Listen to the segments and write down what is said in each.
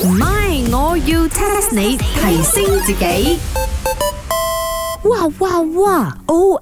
唔係，我要 test 你提升自己。 哇哇哇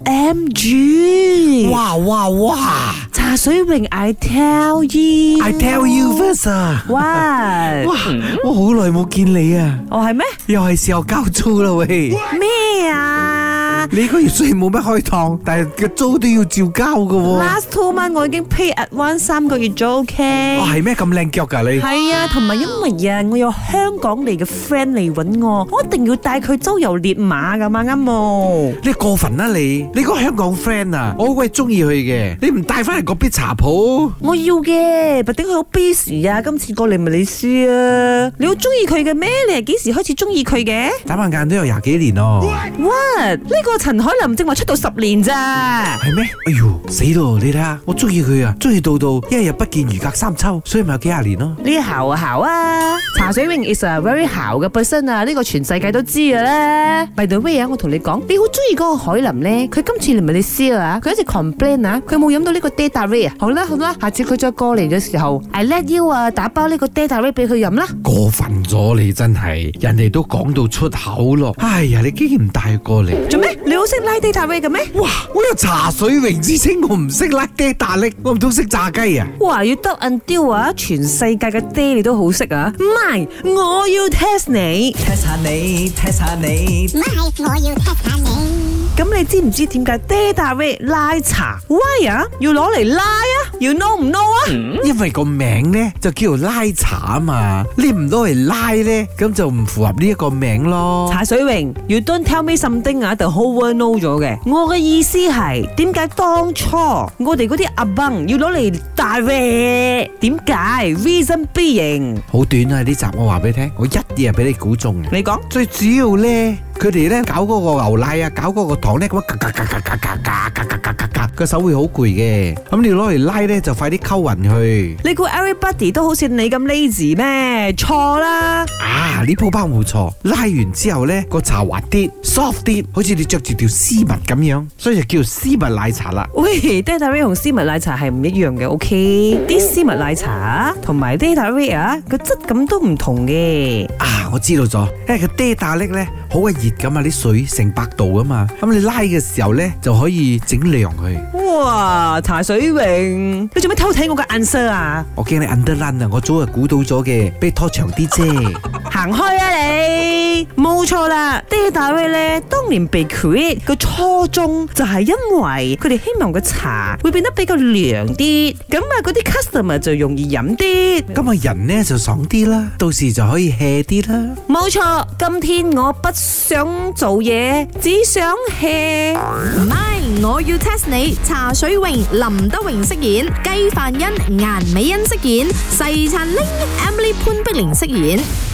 ！OMG！ 哇哇哇！ 茶水榮 ，I tell you， I tell you first 啊！ 哇！ 哇！我好耐冇見你啊！ 哦係咩？ 又係時候交租啦喂！ 咩啊？ 你個月雖然冇乜開檔，但係個租都要照交噶喎。 Last 2 months 我已經 pay advance 3個月租 ，OK？ 哇，係咩咁靚腳噶你？ 係啊，同埋因為啊，我有香港嚟嘅 friend 嚟揾我，我一定要帶佢周遊列馬噶嘛，啱冇？ 你過分啦你！你個香港 friend 啊，我好鬼中意佢嘅，你唔帶翻嚟嗰邊茶鋪？ 我要嘅，但係佢好 busy 啊，今次過嚟馬來西亞，你好中意佢嘅咩？你係幾時開始中意佢嘅？ 眨下眼都有20幾年咯。 What？呢個陳海琳正話出道10年咋？ 係咩？哎呦，死咯！你睇下，我中意佢啊，中意到一日不見如隔三秋，所以咪有幾廿年咯。 呢姣啊姣啊！茶水榮 is a very 姣嘅 person 啊，呢個全世界都知嘅啦。By the way 啊，我同你講，你好中意嗰個海琳咧，佢今次嚟馬來西亞啊，佢一直 complain 啊，佢冇飲到呢個 Data Ray 啊。好啦，下次佢再過嚟嘅時候 ，I let you 啊，打包呢個 Data Ray 俾佢飲啦。 過分咗你真係，人哋都講到出口咯。哎呀，你竟然唔帶過嚟， 做咩？你好識拉 Data Ray 嘅咩？ 哇！我有茶水榮之稱，我唔識拉爹大力，我唔通識炸雞啊？ 哇！要得 until 啊，全世界嘅爹你都好識啊！唔係，我要 test 你。 test 下你，test 下你， 唔係，我要 test 下你。 咁你知唔知點解 Data Ray 拉茶 Why 啊？要攞嚟拉啊？要 know 唔 know 啊？ 因為個名咧就叫做拉茶啊嘛，你唔攞嚟拉咧，咁就唔符合呢一個名咯。 茶水榮 ，You don't tell me something 啊，就 whole world know 咗嘅。我嘅意思係點解當初我哋嗰啲阿崩要攞嚟大 Ray？點解 ？Reason being 好短啊！呢集我話俾你聽，我一嘢俾你估中。 你講最主要咧，佢哋咧搞嗰個牛奶啊，搞嗰個糖咧，咁樣個手會好攰嘅。咁你攞嚟拉咧，就快啲溝勻去。 你估 everybody 都好似你咁 lazy 咩？錯啦！ 啊，呢鋪包冇錯，拉完之後咧個茶滑啲 ，soft 啲，好似你着住條絲襪咁樣，所以就叫做絲襪奶茶啦。 喂 ，Data Ray 同絲襪奶茶係唔一樣嘅，OK？啲絲襪奶茶同埋 Data Ray 啊，個質感都唔同嘅。 啊，我知道咗，因為個爹大力咧好鬼熱噶嘛，啲水成100度啊嘛，咁你拉嘅時候咧就可以整涼佢。 哇，茶水榮，你做咩偷睇我嘅 answer 啊？ 我驚你 underline 啊，我早就估到咗嘅，俾你拖長啲啫。 行開啊你！冇錯啦 ，Data Ray 咧當年被 create 個初衷就係因為佢哋希望個茶會變得比較涼啲，咁啊嗰啲 customer 就容易飲啲。 咁啊人咧就爽啲啦，到時就可以 hea 啲啦。 冇錯，今天我不想做嘢，只想 hea。 唔係，我要 test 你。茶水榮、林德榮飾演，雞飯欣、顏美欣飾演，細燦玲、Emily 潘碧玲飾演。